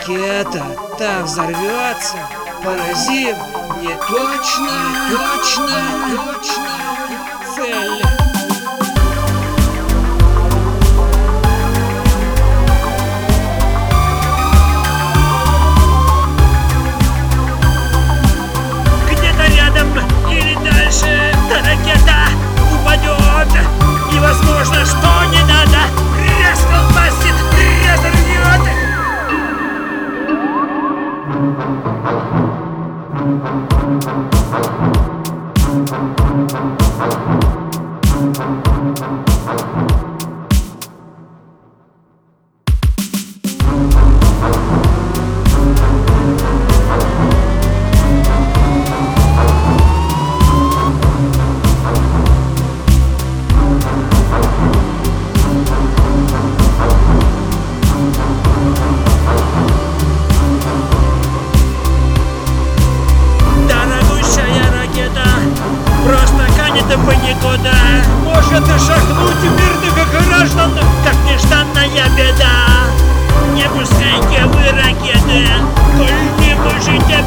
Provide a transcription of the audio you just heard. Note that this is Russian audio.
ракета так взорвется, поразив неточную цель. Где-то рядом или дальше та ракета упадет, и возможно, что не надо, расколбасит, разорвет. Просто канет в никуда. Может шахнуть мирных граждан, как нежданная беда. Не пускайте вы ракеты, коль не можете